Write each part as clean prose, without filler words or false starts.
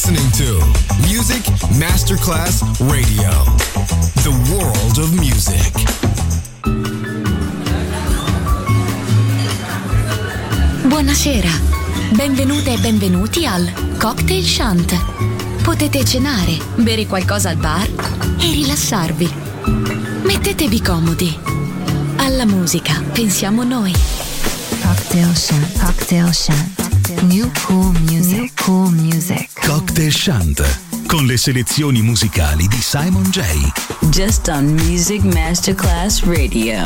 listening to Music Masterclass Radio, the world of music. Buonasera, benvenute e benvenuti al Cocktail Shant. Potete cenare, bere qualcosa al bar e rilassarvi. Mettetevi comodi. Alla musica pensiamo noi. Cocktail Shant, Cocktail Shant. New cool music, new cool music. Cocktail Shant, con le selezioni musicali di Simon J. Just on Music Masterclass Radio.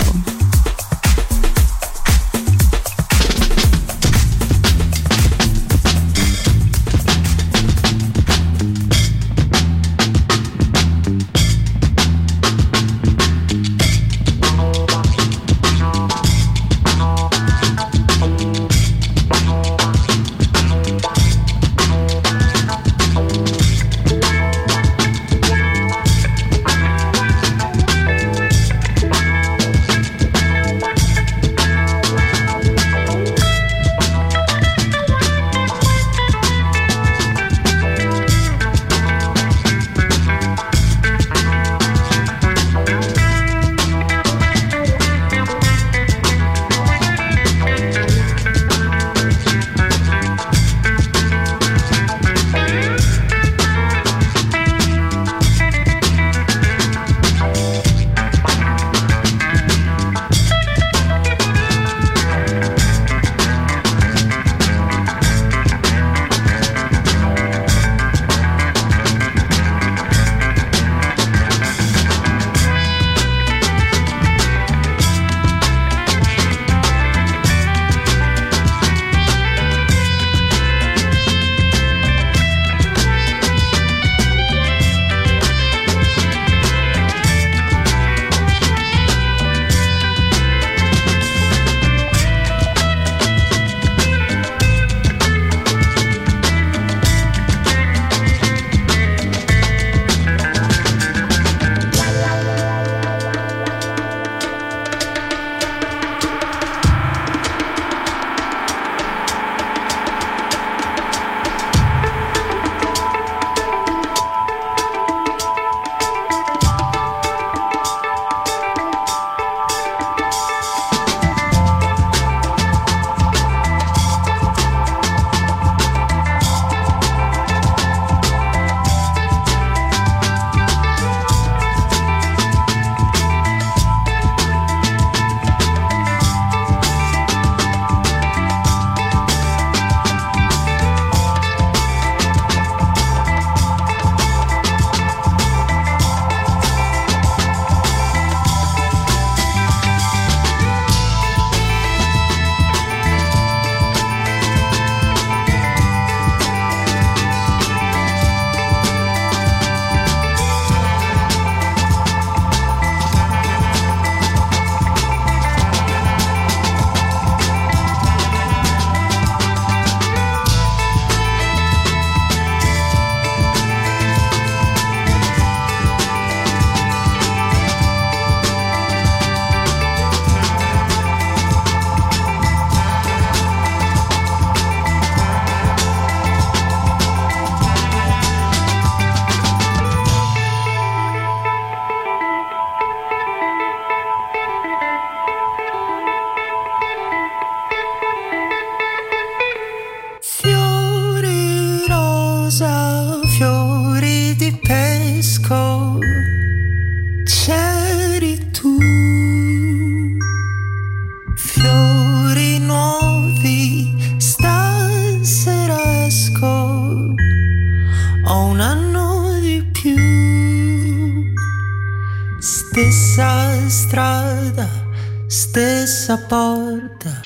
Stessa porta.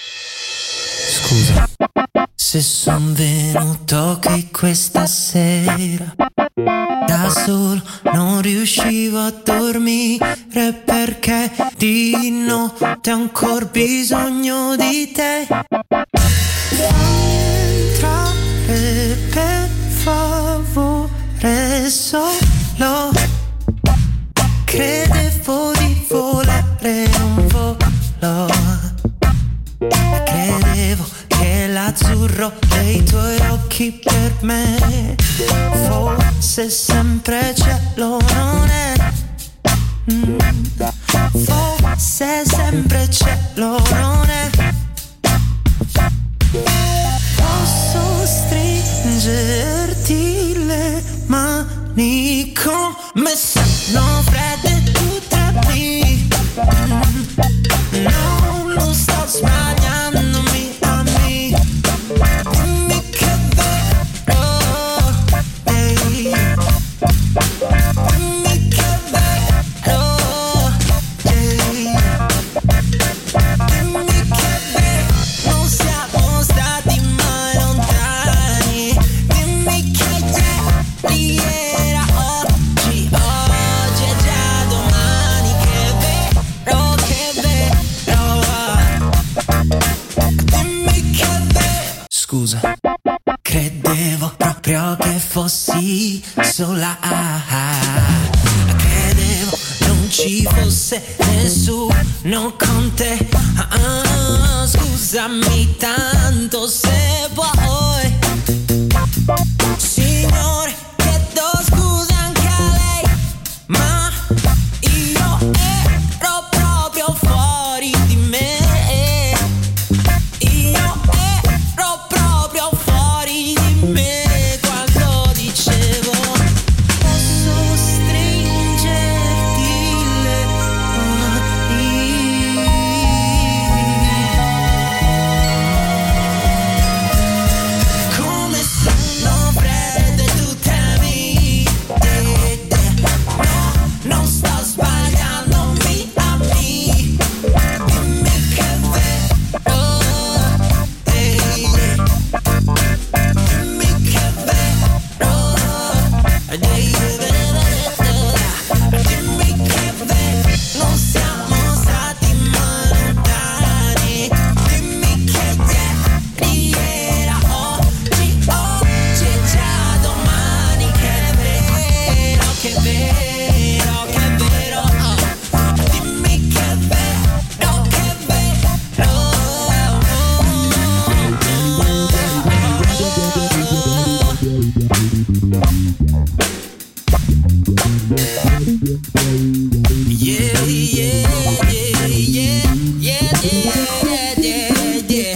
Scusa se son venuto qui questa sera da solo, non riuscivo a dormire perché di notte ho ancora bisogno di te. Fammi entrare per favore, solo credevo di volare, non volo. Credevo che l'azzurro dei tuoi occhi per per me. Forse sempre cielo non è. Forse sempre cielo non è. Posso stringerti le mani come sono fredde tu tremi. No, non sto sbagliando, mi ami. Dimmi che è vero, ehi. Dimmi che è vero, ehi. Dimmi che è vero, non siamo stati mai lontani. Dimmi che ieri era oggi, oggi è già domani. Che è vero, dimmi che è vero. Scusa, credevo proprio che fossi sola. Credevo non ci fosse nessuno con te. Scusami tanto se vuoi. Signore, chiedo scusa anche a lei, ma io ero proprio fuori di me. Io ero proprio fuori di me quando dicevo posso stringerti le mani. Come sono fredde tu temi. No, non sto sbagliando, mi ami. Dimmi che è vero, ehi. Dimmi che è vero, ehi. Dimmi che è vero, non siamo stati mai lontani. Dimmi che ieri era oggi, oggi è già domani. Che è vero, che è vero, che è vero. Dimmi che è vero, che è vero. Yeah, yeah, yeah, yeah, yeah, yeah, yeah,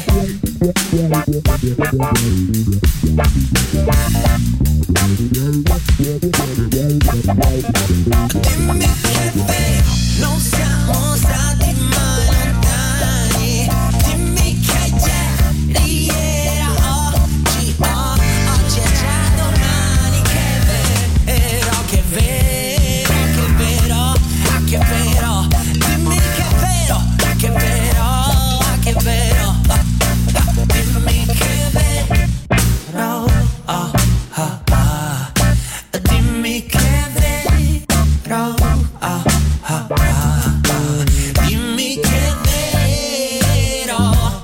Dimmi che è vero, non siamo stati mai lontani. Dimmi che ieri era oggi, oggi è già domani. Che è vero, che è vero, che è vero, che è vero. Dimmi che è vero, che è vero, che è vero. Dimmi che è vero, dimmi che è vero, dimmi che è vero,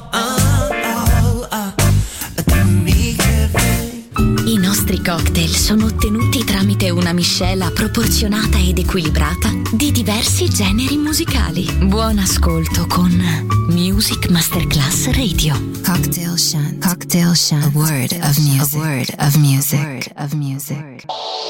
dimmi che è vero. I nostri cocktail sono ottenuti tramite una miscela proporzionata ed equilibrata di diversi generi musicali. Buon ascolto con Music Masterclass Radio. Cocktail Shant. Cocktail Shant. A word of music. A word of music. A word of music.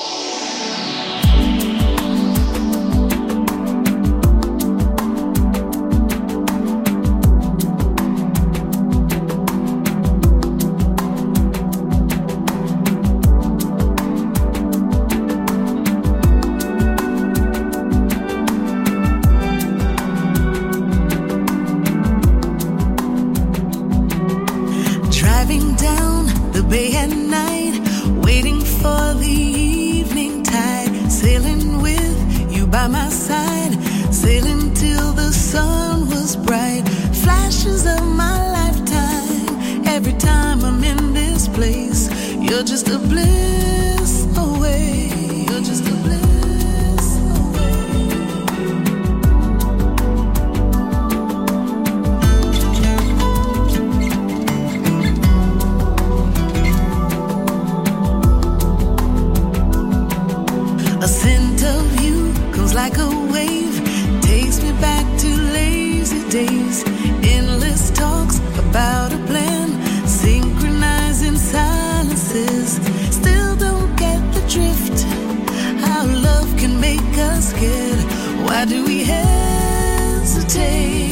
Driving down the bay at night, waiting for the evening tide, sailing with you by my side, sailing till the sun was bright. Flashes of my lifetime, every time I'm in this place, you're just a bliss away. You're just a bliss A scent of you comes like a wave, takes me back to lazy days. Endless talks about a plan, synchronizing silences. us scared? Why do we hesitate?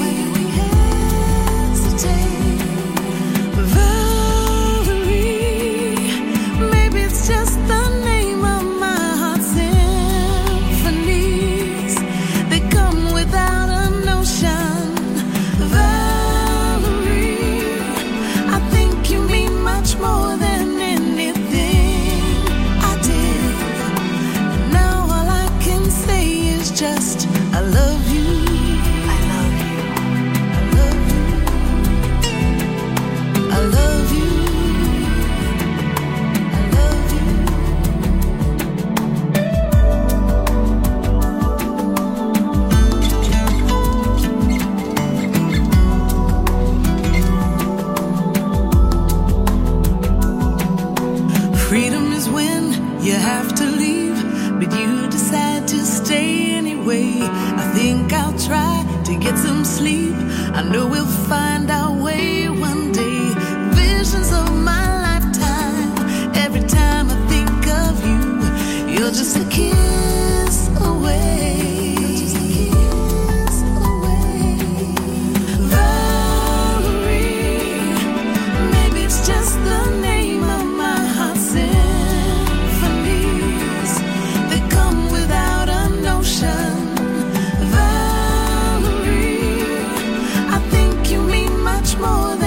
Valerie, maybe it's just the name of my heart's symphonies. They come without a notion. Valerie, I think you mean much more than anything I did. Now all I can say is just I love you. I love you. I love you. I love you. I love you. Freedom is when you have to leave, but you decide to stay anyway. I think I'll try to get some sleep. I know we'll find our way one day. Visions of my lifetime. Every time I think of you, you're just a kiss away. Just a kiss away. Valerie, maybe it's just the name of my heart's symphonies. They come without a notion. Valerie, I think you mean much more than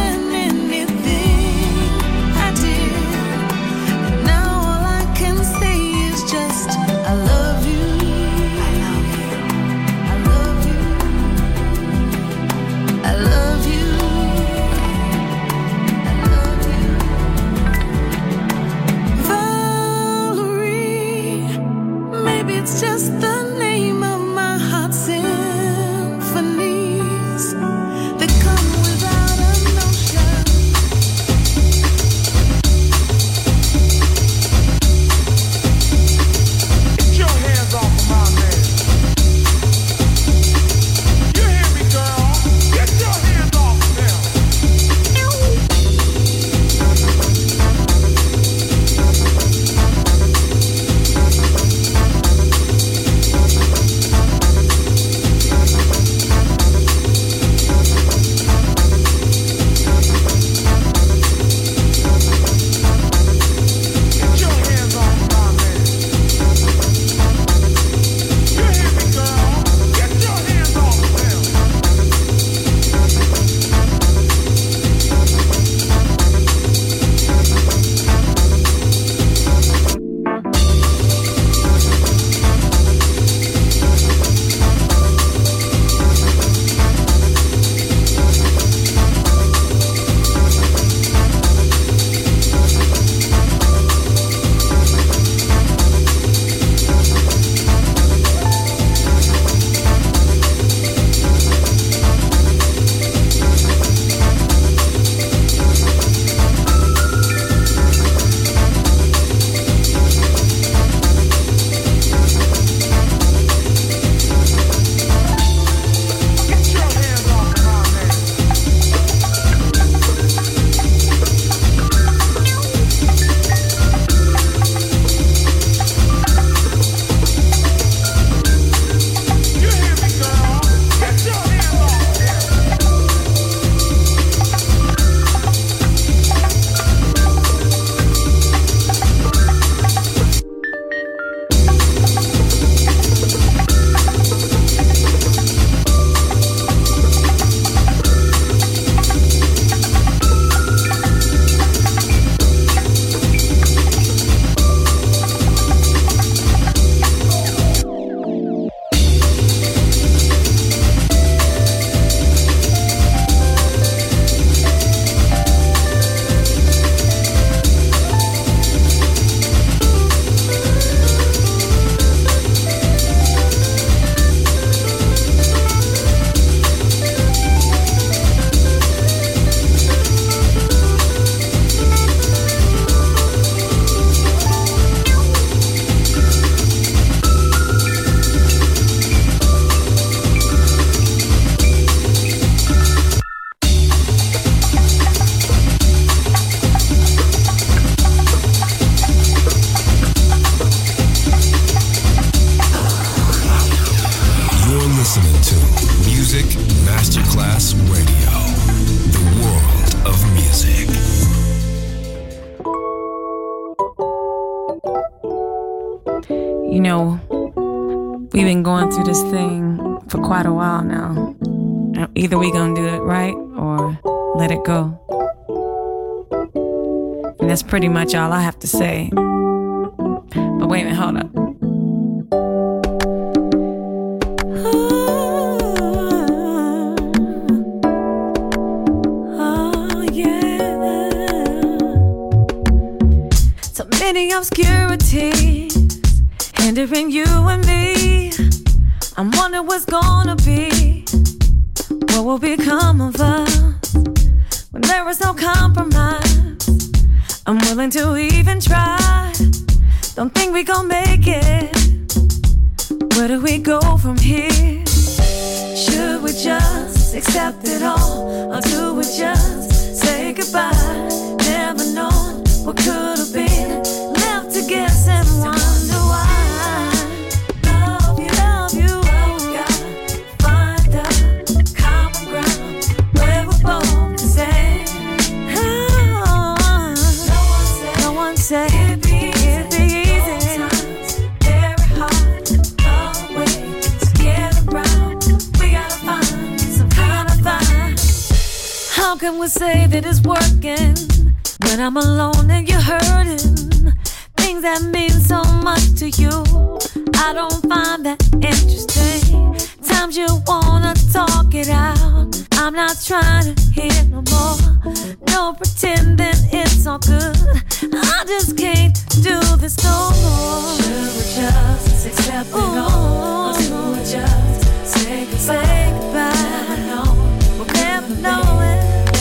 You know, we've been going through this thing for quite a while now. Either we gonna do it right or let it go. And that's pretty much all I have to say. But wait a minute, hold up. Many obscurities hindering you and me. I'm wondering what's gonna be. What will become of us when there is no compromise? I'm willing to even try. Don't think we gon' make it. Where do we go from here? Should we just accept it all, or do we just say goodbye? Never known what could have been. Left to guess and wonder why. Love you, gotta find a common ground where we're both the same. No one said it'd be easy. Very hard, long way to get around. We gotta find some kind of vibe. How can we say that it's working when I'm alone and you're hurting? Things that mean so much to you, I don't find that interesting. Times you wanna talk it out, I'm not trying to hear no more. No pretending it's all good, I just can't do this no more. Should we just accept it all, or do we just say goodbye? Never know, we'll never know it.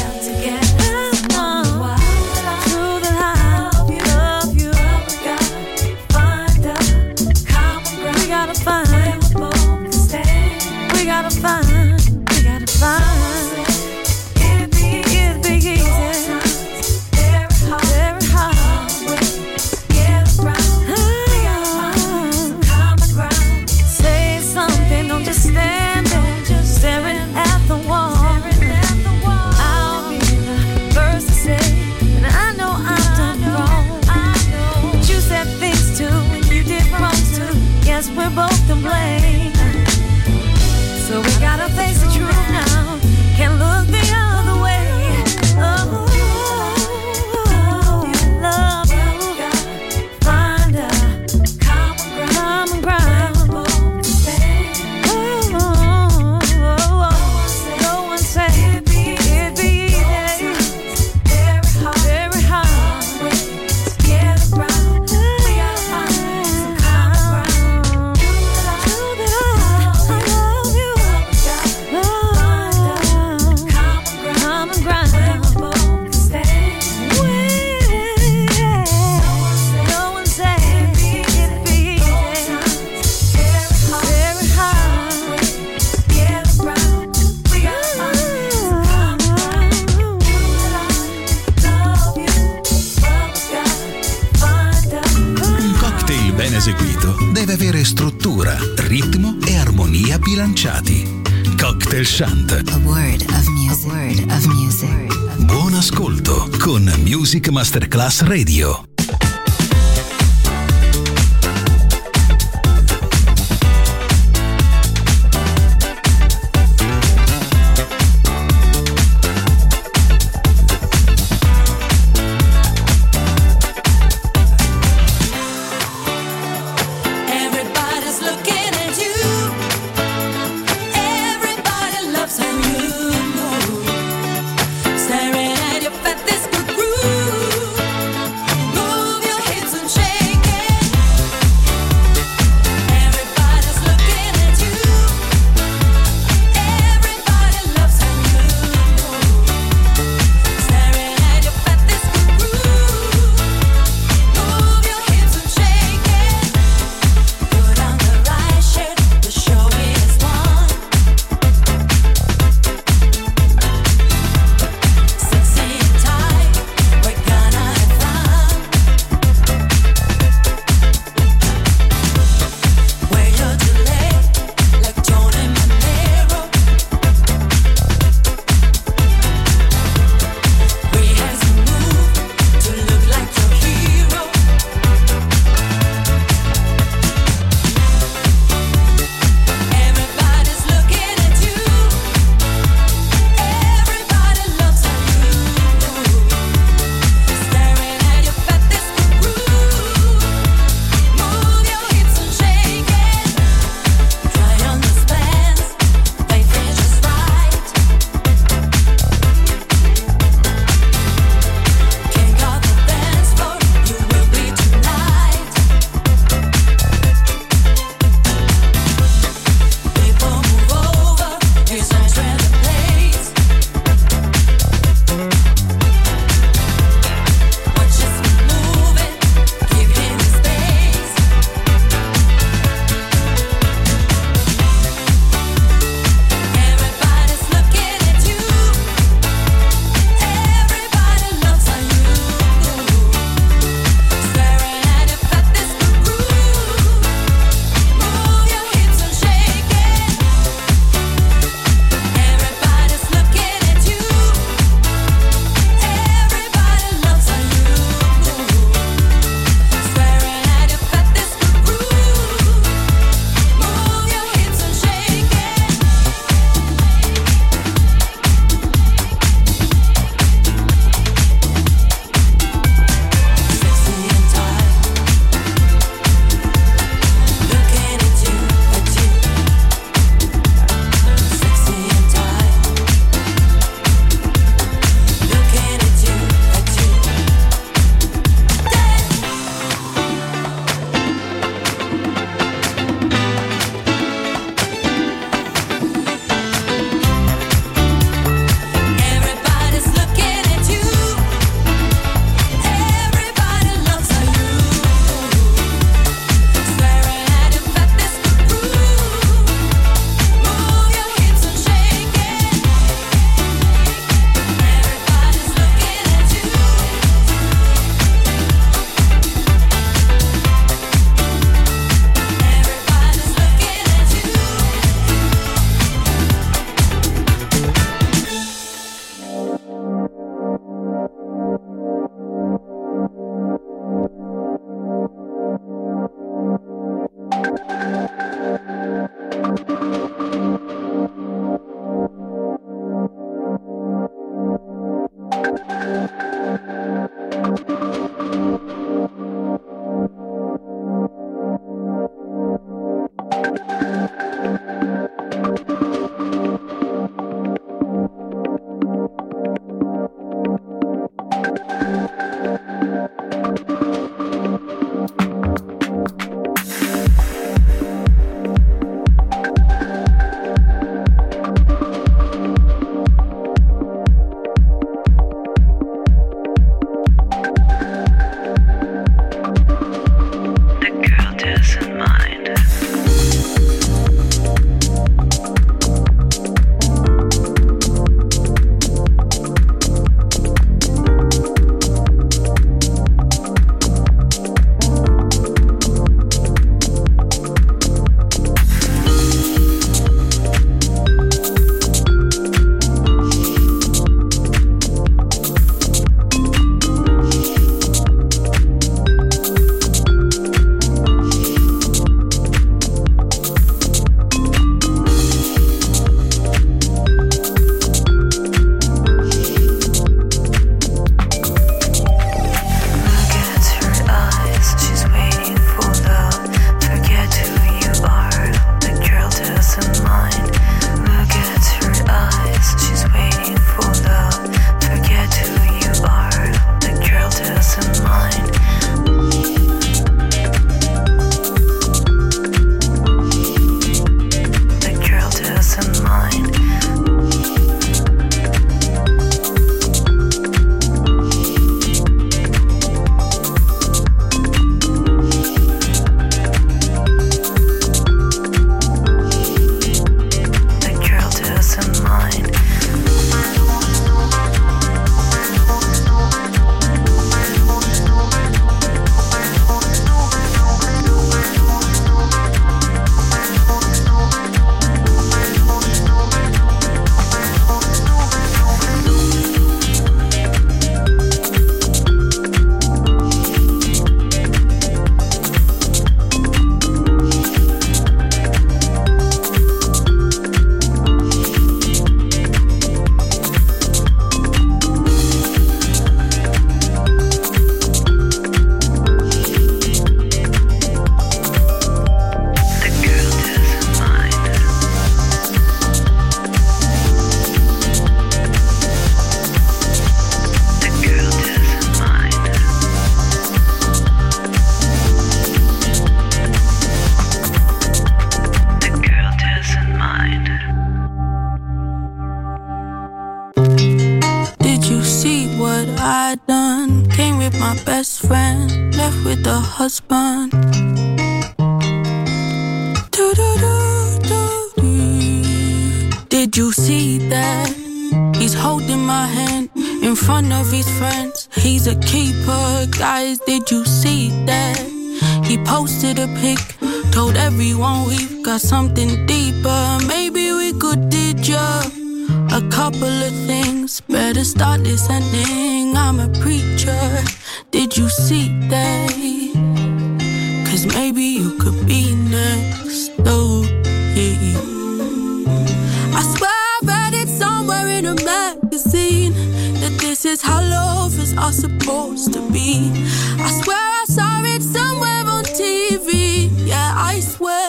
We're both to blame, so we gotta face the truth now. Can't look the other way. Oh, love you, find a common ground. No one said it'd be easy. Very hard to get around. We gotta find some common ground. Eseguito deve avere struttura, ritmo e armonia bilanciati. Cocktail Shant. A word of music. A word of music. Buon ascolto con Music Masterclass Radio. Staring at your fat, this good groove. best friend, left with the husband. Did you see that? He's holding my hand in front of his friends. He's a keeper, guys, did you see that? He posted a pic, told everyone we've got something deeper. Maybe we could teach ya a couple of things. Better start listening, I'm a preacher. Did you see that? 'Cause maybe you could be next, oh yeah. I swear I read it somewhere in a magazine, that this is how lovers are supposed to be. I swear I saw it somewhere on TV, yeah, I swear.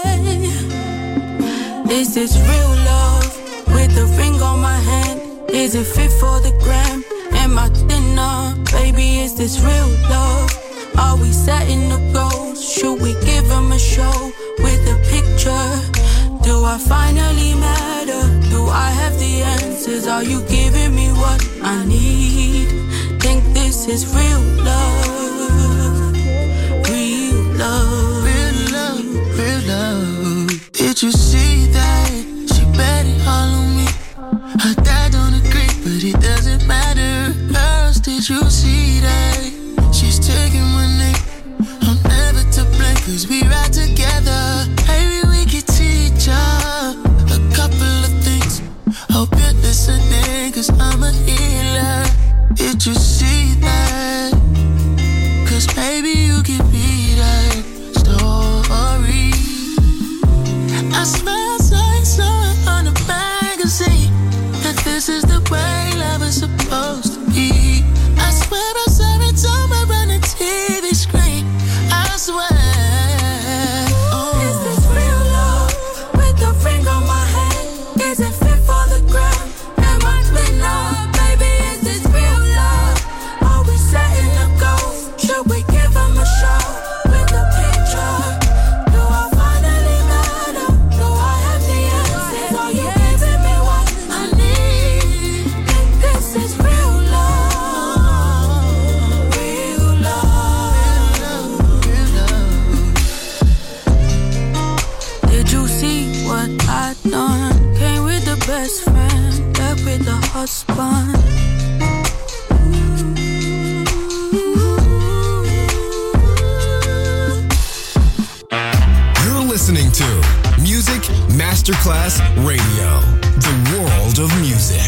This is real love, with a ring on my hand. Is it fit for the gram? Am I thinner? Baby, is this real love? Are we setting the goals? Should we give them a show with a picture? Do I finally matter? Do I have the answers? Are you giving me what I need? Think this is real love. Real love. Real love, real love. Did you see that? She bet it all on me. Her dad don't agree, but it doesn't matter. Girls, did you see that? She's taking my name. I'm never to blame, 'cause we ride together. Maybe we could teach her a couple of things. Hope you're listening, 'cause I'm a healer. Did you see that? 'Cause maybe you can be that story. I swear I saw it somewhere on a magazine, that this is the way love is supposed to be. I swear I saw it somewhere on a TV screen. I swear. Oh. Is this real love? With the ring on my hand, is it fit for the gram? Am I thinner? Baby, is this real love? Are we setting the goals? Should we give them a show with a picture? Do I finally matter? Do I have the answers? Are you giving me what I need? Think this is real love. Real love. Real love. Did you see what I done? Came with the best friend, left with the husband. You're listening to Music Masterclass Radio, the world of music.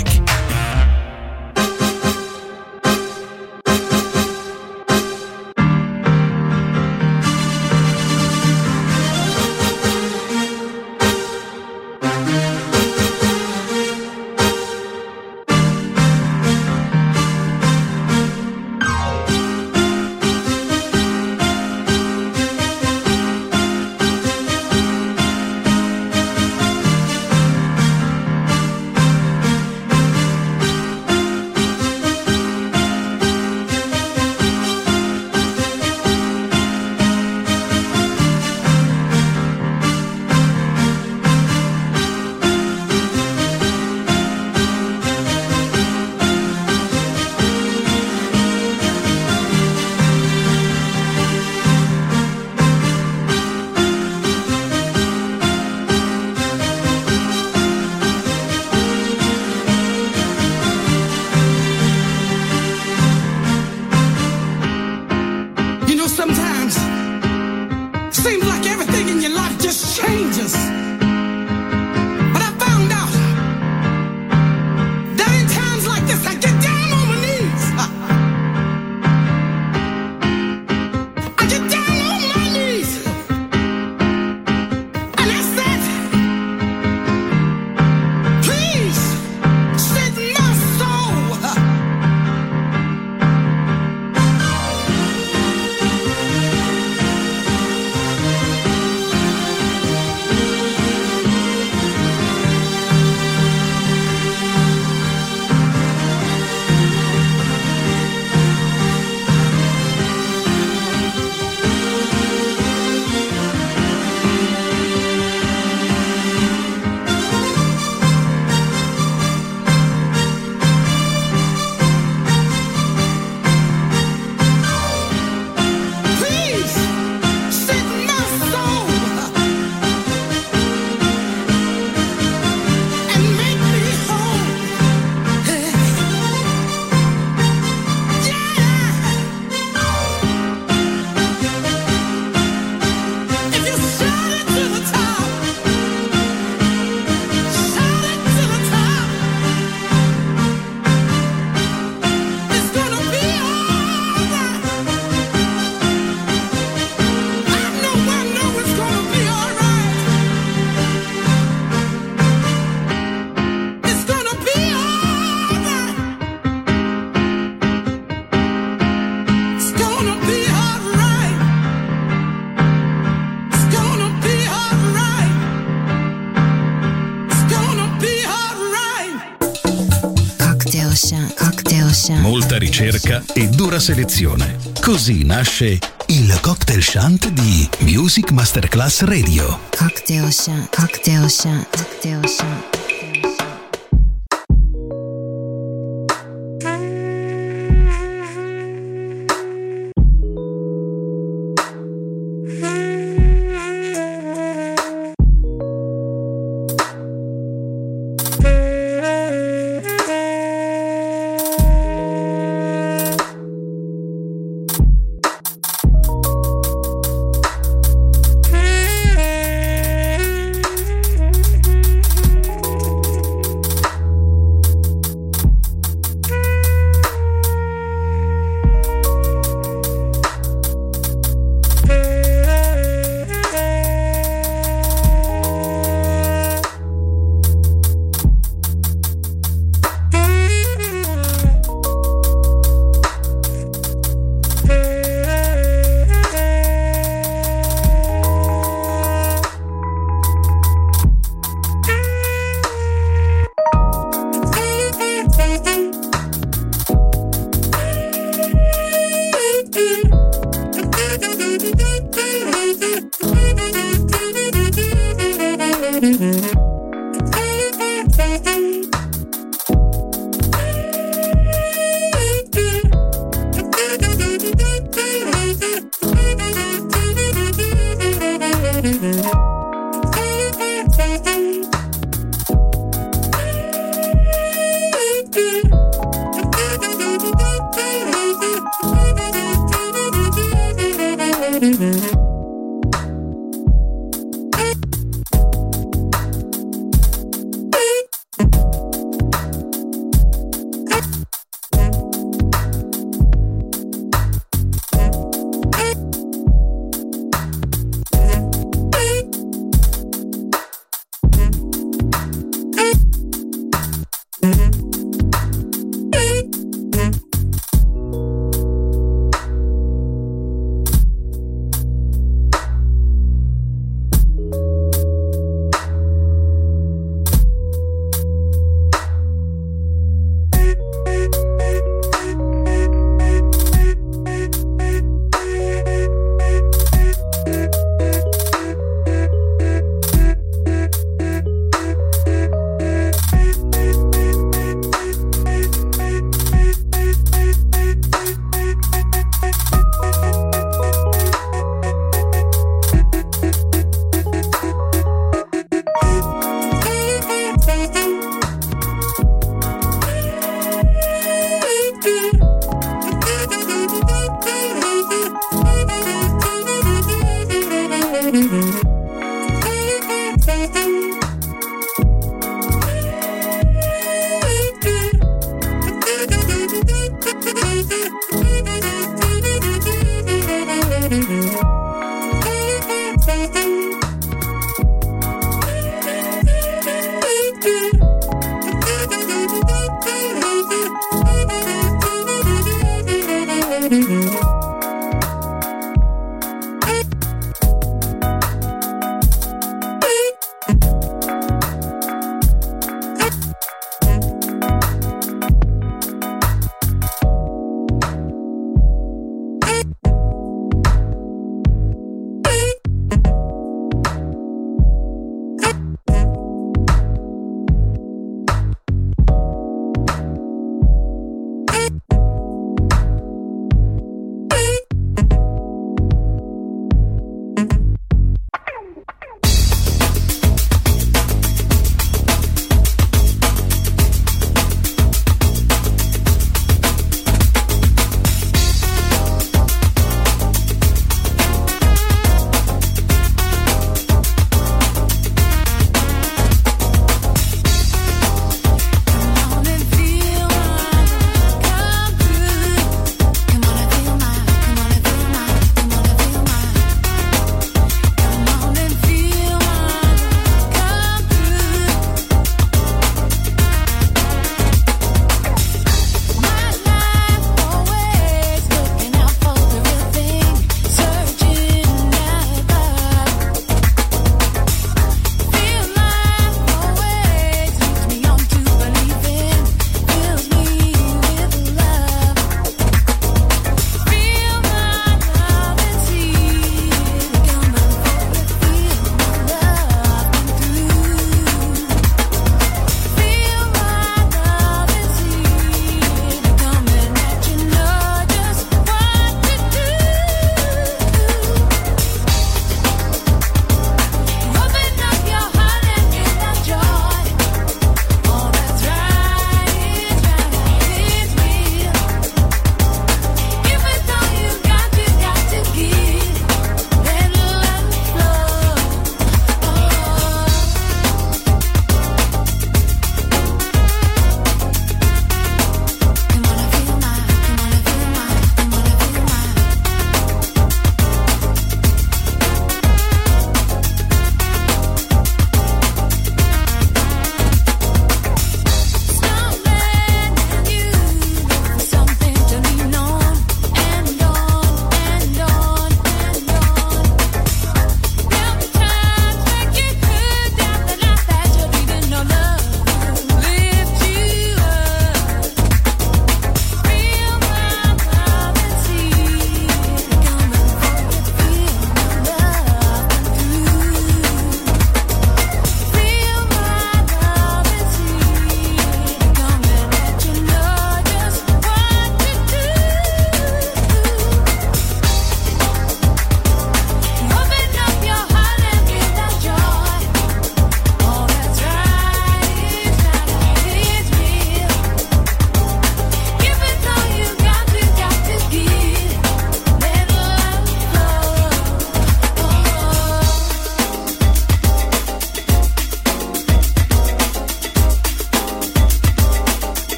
Ocean. Molta ricerca e dura selezione. Così nasce il Cocktail Shant di Music Masterclass Radio. Cocktail Shant, Cocktail Shant, Cocktail Shant.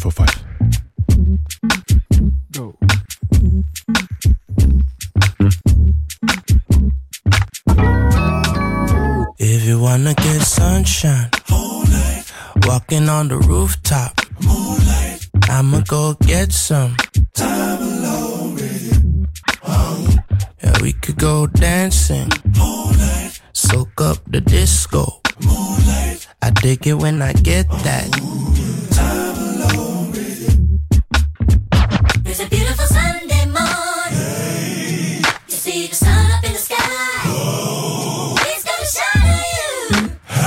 505. Go. If you wanna get sunshine, moonlight. Walking on the rooftop, moonlight. I'ma go get some time alone with you. Yeah, we could go dancing, moonlight. Soak up the disco, moonlight. I dig it when I get that time alone with you. It's a beautiful Sunday morning. Hey. You see the sun up in the sky. Oh. He's gonna shine on you.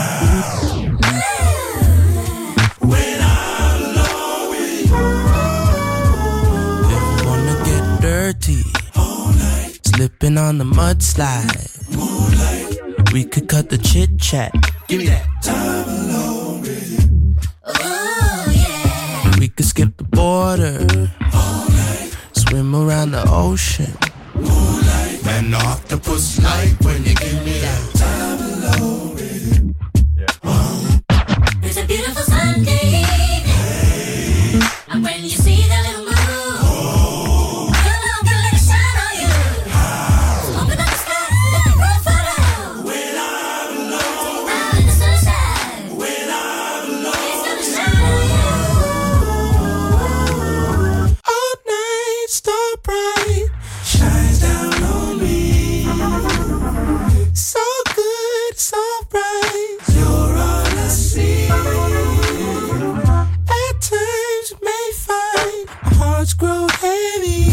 When I'm alone with you. If you wanna get dirty, moonlight. Slipping on the mudslide, moonlight. We could cut the chit chat. Give me that time alone with you. Oh yeah. We could skip the border, moonlight. Swim around the ocean, moonlight. Man, the octopus like when you give me that time alone with you. It's a beautiful Sunday evening. Hey. And when you see that little moon, oh. Come on, girl, let it shine on you. Oh. Open up the sky, let the world fall out. When I'm alone, out in the sunshine. When I'm alone, it's gonna shine on you. All night, star bright, shines down on me. So good, so bright, you're all I see. At times you may find our hearts grow heavy.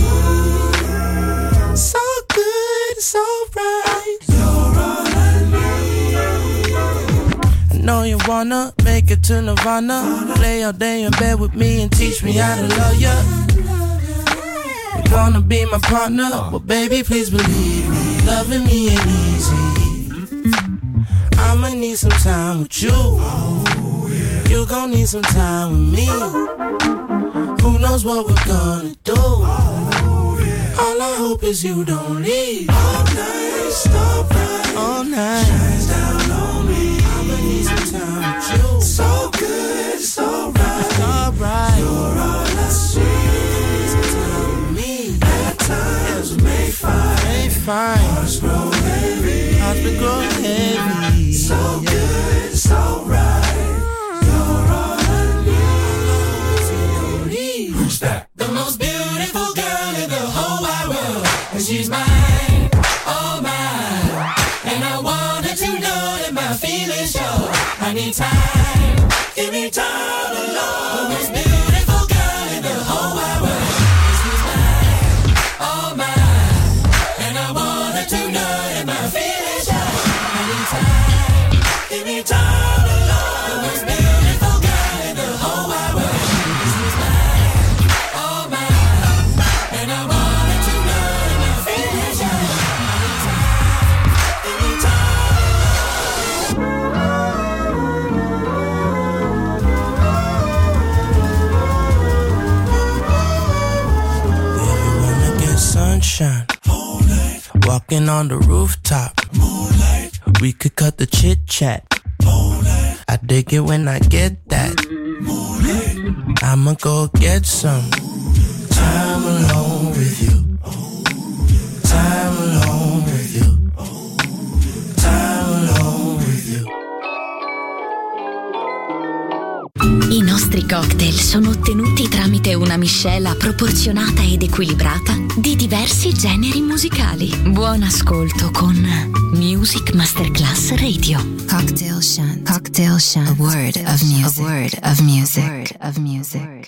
So good, so bright, you're all I need. I know you wanna make it to Nirvana. Lay all day in bed with me and teach me how to love ya. You wanna be my partner, well baby please believe me, loving me ain't easy. I'ma need some time with you. You gon' need some time with me. Who knows what we're gonna do? All I hope is you don't leave. All night, star bright, all night, shines down on me. I'ma need some time with you. So good, so right, so right. You're all I see. Some time with me. At times we may find hearts grow heavy. Hearts be growing heavy. So good, so right. You're all I need. Who's that? The most beautiful girl in the whole wide world. And she's mine, oh mine. And I want her to know that my feelings show. I need time, give me time alone. The most beautiful girl in the whole wide world. And she's mine, oh mine. And I want her to know that my feelings show. I need time, give me time alone. The most beautiful girl in the whole wide world. And she's mine, oh mine. And I want her to know that my feelings show. I need time, give me time alone. If you wanna get sunshine, moonlight. Walking on the rooftop, moonlight. We could cut the chit chat, moonlight. I dig it when I get that moonlight. I'ma go get some time alone with you. Time alone with you. Time alone with you. I nostri cocktail sono ottenuti tramite una miscela proporzionata ed equilibrata di diversi generi musicali. Buon ascolto con Music Masterclass Radio. Cocktail Shant. Cocktail Shant. A word of music. A word of music. A word of music.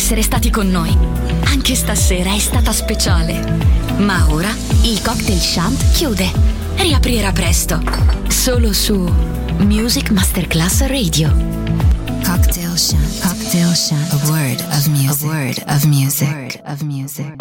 essere stati con noi. Anche stasera è stata speciale. Ma ora il Cocktail Shant chiude. Riaprirà presto. Solo su Music Masterclass Radio. Cocktail Shant. Cocktail Shant. A word of music. A word of music.